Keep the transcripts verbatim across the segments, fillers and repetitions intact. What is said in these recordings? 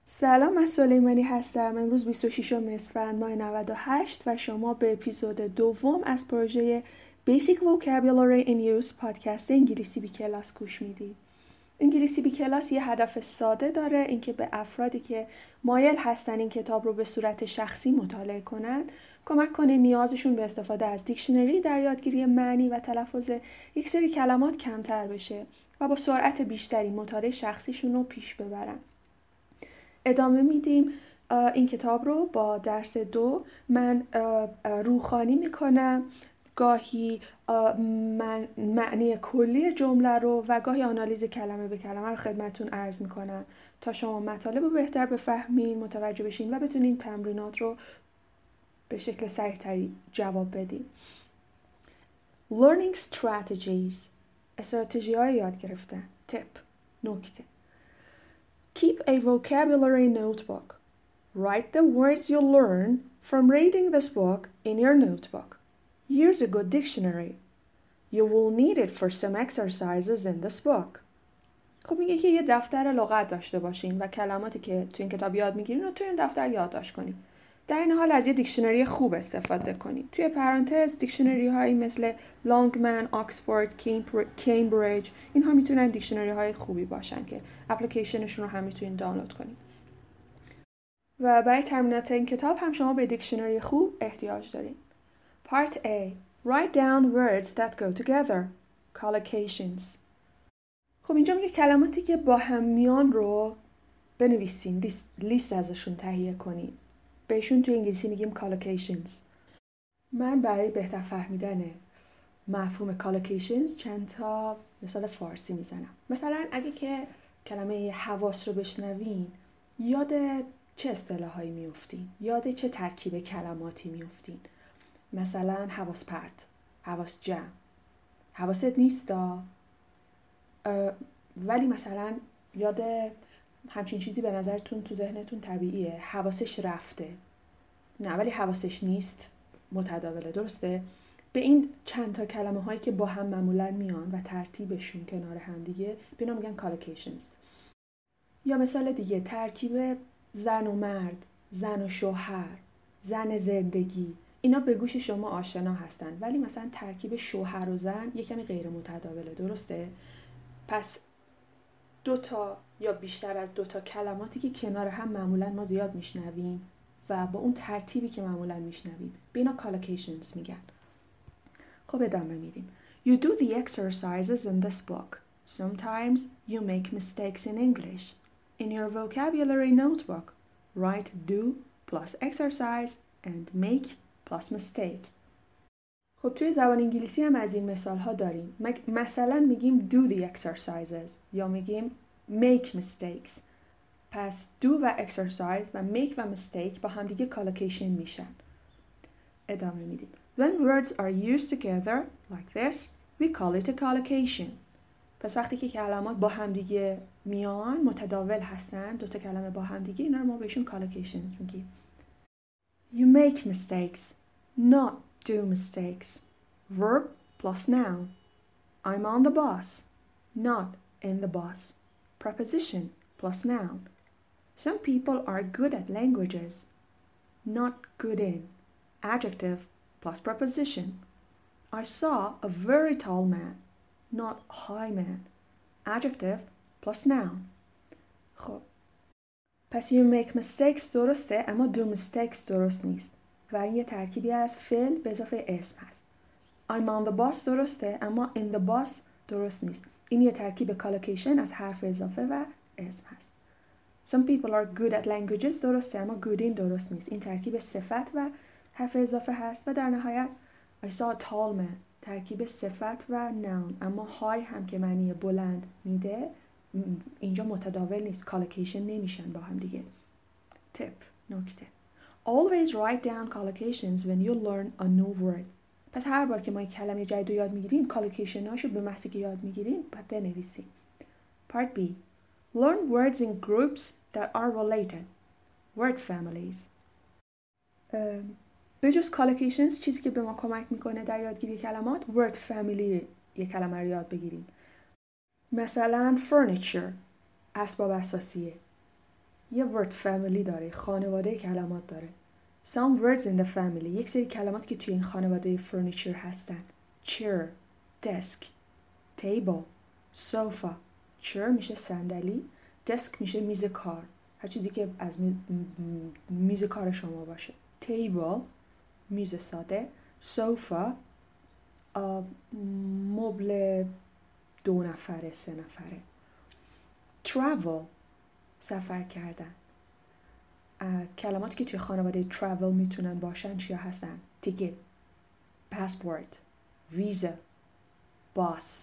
سلام، من سلیمانی هستم. امروز بیست و ششم اسفند ماه نود و هشت و شما به اپیزود دوم از پروژه Basic Vocabulary in Use پادکست انگلیسی بی کلاس گوش میدید. انگلیسی بی کلاس یه هدف ساده داره، اینکه به افرادی که مایل هستن این کتاب رو به صورت شخصی مطالعه کنند کمک کنه نیازشون به استفاده از دیکشنری در یادگیری معنی و تلفظ یک سری کلمات کمتر بشه و با سرعت بیشتری مطالعه شخصیشون رو پیش ببرن. ادامه میدیم این کتاب رو با درس دو. من روخوانی میکنم، گاهی من معنی کلی جمله رو و گاهی آنالیز کلمه به کلمه رو خدمتتون عرض میکنم تا شما مطالب رو بهتر بفهمین، متوجه بشین و بتونین تمرینات رو به شکل سریع‌تری جواب بدین. Learning strategies، استراتژی های یاد گرفتن. تip، نکته. Keep a vocabulary notebook. Write the words you learn from reading this book in your notebook. Use a good dictionary. You will need it for some exercises in this book. خب میگه که یه دفتر لغت داشته باشین و کلماتی که تو این کتاب یاد میگیرین رو تو این دفتر یادداشت کنین. در این حال از یه دیکشنری خوب استفاده کنین. توی پرانتز دیکشنری هایی مثل لانگمن، آکسفورد، کمبریج، اینها میتونن دیکشنری های خوبی باشن که اپلیکیشنشون رو هم میتونین دانلود کنین. و برای تمرینات این کتاب هم شما به دیکشنری خوب احتیاج دارین. Part A. Write down words that go together. Collocations. خب اینجا میگه کلماتی که با هم میان رو بنویسین، لیست, لیست ازشون تهیه کنین. بهشون توی انگلیسی میگیم collocations. من برای بهتر فهمیدن مفهوم collocations چند تا مثال فارسی میزنم. مثلا اگه که کلمه حواس رو بشنوین، یاد چه اصطلاحایی میافتین؟ یاد چه ترکیب کلماتی میافتین؟ مثلا حواس پرت، حواس جمع. حواست نیستا، ولی مثلا یاد همچین چیزی به نظرتون تو ذهنتون طبیعیه. حواسش رفته، نه ولی حواسش نیست، متداوله، درسته؟ به این چند تا کلمه هایی که با هم معمولا میان و ترتیبشون کنار هم دیگه به اینا میگن collocations. یا مثال دیگه، ترکیب زن و مرد، زن و شوهر، زن زندگی، اینا به گوش شما آشنا هستن، ولی مثلا ترکیب شوهر و زن یه کمی غیر متداوله، درسته؟ پس دو تا یا بیشتر از دو تا کلماتی که کنار هم معمولا ما زیاد میشنویم و با اون ترتیبی که معمولا میشنویم به اینا collocations میگن. خب ادامه میدیم. You do the exercises in this book. Sometimes you make mistakes in English. In your vocabulary notebook, write do plus exercise and make plus mistake. خب توی زبان انگلیسی هم از این مثال ها داریم. مثلا میگیم do the exercises یا میگیم make mistakes. پس do و exercise و make و mistake با هم دیگه collocation میشن. ادامه میدیم. When words are used together like this, we call it a collocation. پس وقتی که کلمات با هم دیگه میان، متداول هستن، دو تا کلمه با هم دیگه، اینا رو ما بهشون collocations میگیم. You make mistakes, not do mistakes. Verb plus noun. I'm on the bus, not in the bus. Preposition plus noun. Some people are good at languages, not good in. Adjective plus preposition. I saw a very tall man, not high man. Adjective plus noun. خب پس you make mistakes درسته، اما do mistakes درست نیست و این یه ترکیبی از فعل به اضافه اسم هست. I'm on the bus درسته، اما in the bus درست نیست. این یه ترکیب collocation از حرف اضافه و اسم هست. Some people are good at languages درسته، اما good in درست نیست. این ترکیب صفت و حرف اضافه هست. و در نهایت I saw a tall man، ترکیب صفت و noun، اما high هم که معنی بلند میده اینجا متداول نیست، collocation نمیشن با هم دیگه. tip، نکته. Always write down collocations when you learn a new word. پس هر بار که ما یک کلمه جدید رو یاد میگیریم collocation هاشو به محضی که یاد میگیریم باید بنویسیم. Part B. Learn words in groups that are related. Word families. به جز collocations چیزی که به ما کمک میکنه در یادگیری کلمات word family یک کلمه رو یاد بگیریم. مثلا furniture، اسباب اساسیه. یه word family داره، خانواده کلمات داره. Some words in the family، یک سری کلمات که توی این خانواده furniture هستن. chair، desk، table، sofa. chair میشه صندلی، desk میشه میز کار، هر چیزی که از می... میز کار شما باشه. table میز ساده، sofa مبل دو نفره سه نفره. travel سفر کردن. کلماتی که توی خانواده travel میتونن باشن چیا هستن؟ ticket، passport، visa، باس،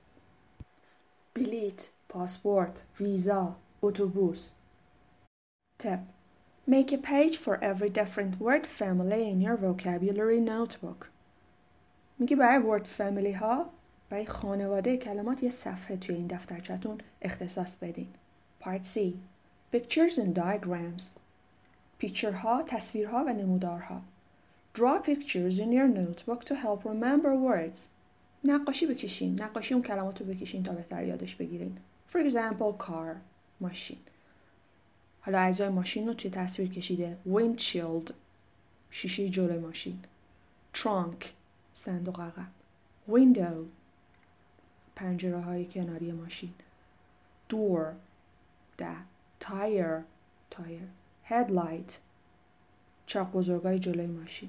بلیت، پاسپورت، ویزا، اتوبوس. tip: Make a page for every different word family in your vocabulary notebook. میگه برای word family ها، برای خانواده کلمات یه صفحه توی این دفترچه‌تون اختصاص بدین. Part C: Pictures and diagrams. پیکچرها، تصویرها و نمودارها. Draw pictures in your notebook to help remember words. نقاشی بکشین. نقاشی اون کلمات رو بکشین تا بهتر یادش بگیرین. For example, car، ماشین. حالا اجزای ماشین رو توی تصویر کشیده. Windshield، شیشه جلوی ماشین. Trunk، صندوق عقب. Window، پنجره های کناری ماشین. Door، در. Tire، تایر. Headlight، چراغ بزرگای جلوی ماشین.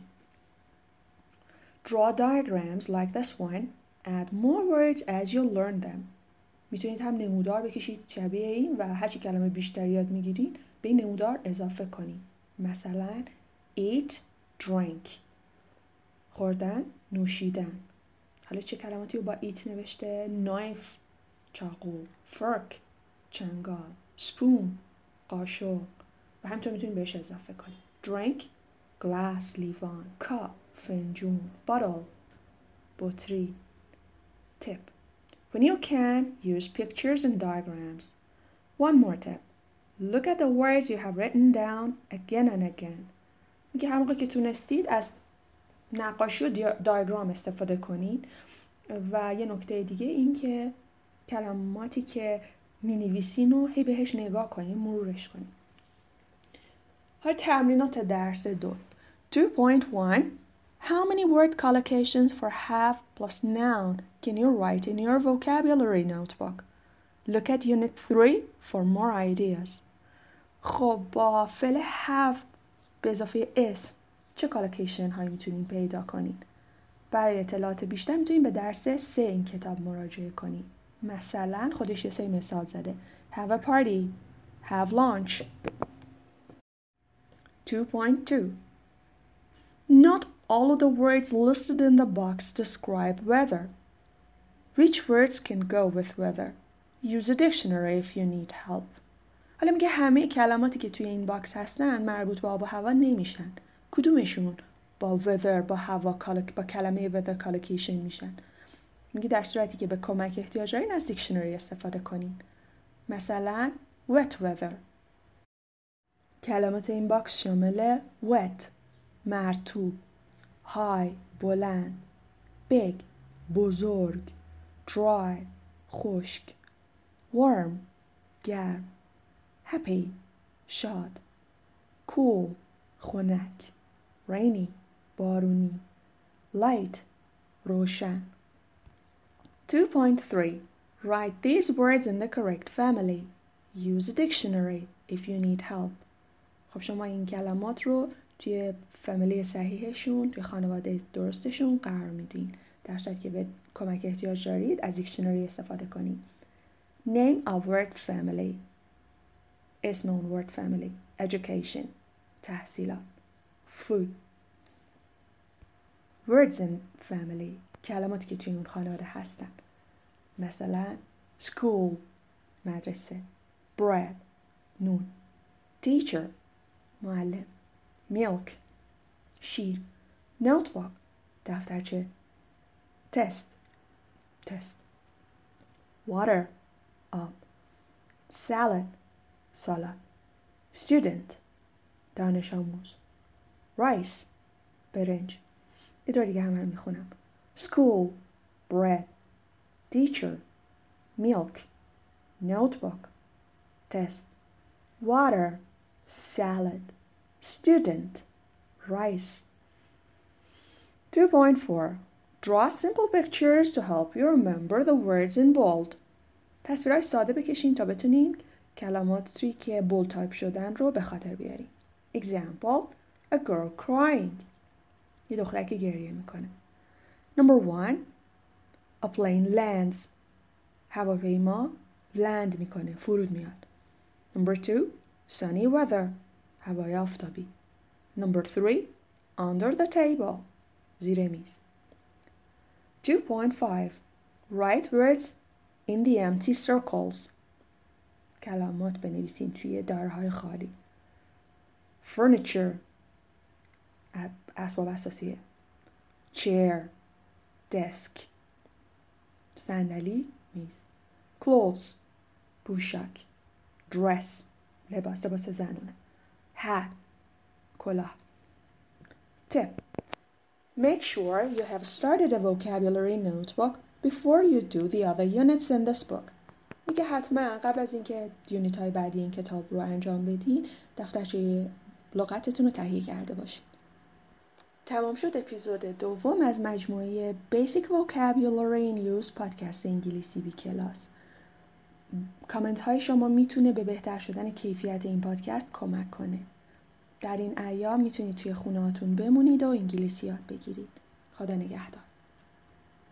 Draw diagrams like this one. Add more words as you learn them. میتونید هم نمودار بکشید شبیه این و هرچی کلمه بیشتر یاد میگیرین به این نمودار اضافه کنید. مثلا eat، drink، خوردن، نوشیدن. حالا چه کلماتی رو با eat نوشته؟ knife، چاقو، fork، چنگال، spoon، قاشق و همینطور میتونید بهش اضافه کنید. drink، glass، لیوان. cup، فنجون. bottle، بطری. tip: When you can, use pictures and diagrams. One more tip: Look at the words you have written down again and again. میگه هر موقع که تونستید از نقاشی و دایگرام استفاده کنید. و یه نکته دیگه این که کلماتی که می‌نویسین رو هی بهش نگاه کنید، مرورش کنید. حالا تمرینات درس دو. two point one How many word collocations for have plus noun can you write in your vocabulary notebook? Look at unit three for more ideas. خب با فعل have به اضافه اسم چه کالوکیشن هایی میتونین پیدا کنین؟ برای اطلاعات بیشتر میتونین به درس سه این کتاب مراجعه کنین. مثلا خودش یه سری مثال زده. Have a party. Have lunch. two point two Not all of the words listed in the box describe weather. Which words can go with weather? Use a dictionary if you need help. حالا میگه همه کلماتی که توی این باکس هستن مربوط به آب و هوا نمیشن. کدومشون با weather، با هوا، با کلمه weather collocation میشن؟ میگه در صورتی که به کمک احتیاج دارین از دیکشنری استفاده کنین. مثلا wet weather. کلمات این باکس شامل wet، مرطوب، high، بلند، big، بزرگ، dry، خشک، warm، گرم، happy، شاد، cool، خنک، rainy، بارونی، light، روشن. two point three Write these words in the correct family. Use a dictionary if you need help. خب شما این کلمات رو توی فامیلی صحیحشون، توی خانواده درستشون قرار میدین. در صورتی که به کمک احتیاج دارید از دیکشنری استفاده کنید. Name of word family. اسم اون word family. Education. تحصیلات. Food. Words in family. کلماتی که توی اون خانواده هستن. مثلا school، مدرسه. bread، نون. teacher، معلم. milk، شیر. notebook، دفترچه. test، تست. water، آب. salad، سالاد. student، دانش آموز. rice، برنج. یه دور دیگه همه رو میخونم. school، bread. teacher، milk. notebook، test. water، salad, student, rice. two point four. Draw simple pictures to help you remember the words in bold. تصویرهای ساده بکشین تا بتونین کلماتی که بولد تایپ شدن رو به خاطر بیارین. Example, a girl crying. یه دختر که گریه میکنه. Number one, a plane lands. هواپیما land میکنه، فرود میاد. Number two, sunny weather. هوای آفتابی. Number three, under the table. زیر میز. two point five. Write words in the empty circles. کلمات بنویسین توی دایره‌های خالی. Furniture. اسباب اساسیه. Chair. Desk. صندلی، میز. Clothes. پوشاک. Dress. لباس لباس زنونه. Hat. کلاه. Tip. Make sure you have started a vocabulary notebook before you do the other units in this book. میگه حتما قبل از اینکه یونیت های بعدی این کتاب رو انجام بدین دفترچه لغتتون رو تهیه کرده باشین. تمام شد اپیزود دوم از مجموعه Basic Vocabulary in Use پادکست انگلیسی بی کلاس. کامنت های شما میتونه به بهتر شدن کیفیت این پادکست کمک کنه. در این ایام میتونید توی خونه هاتون بمونید و انگلیسی یاد بگیرید. خدا نگهدار.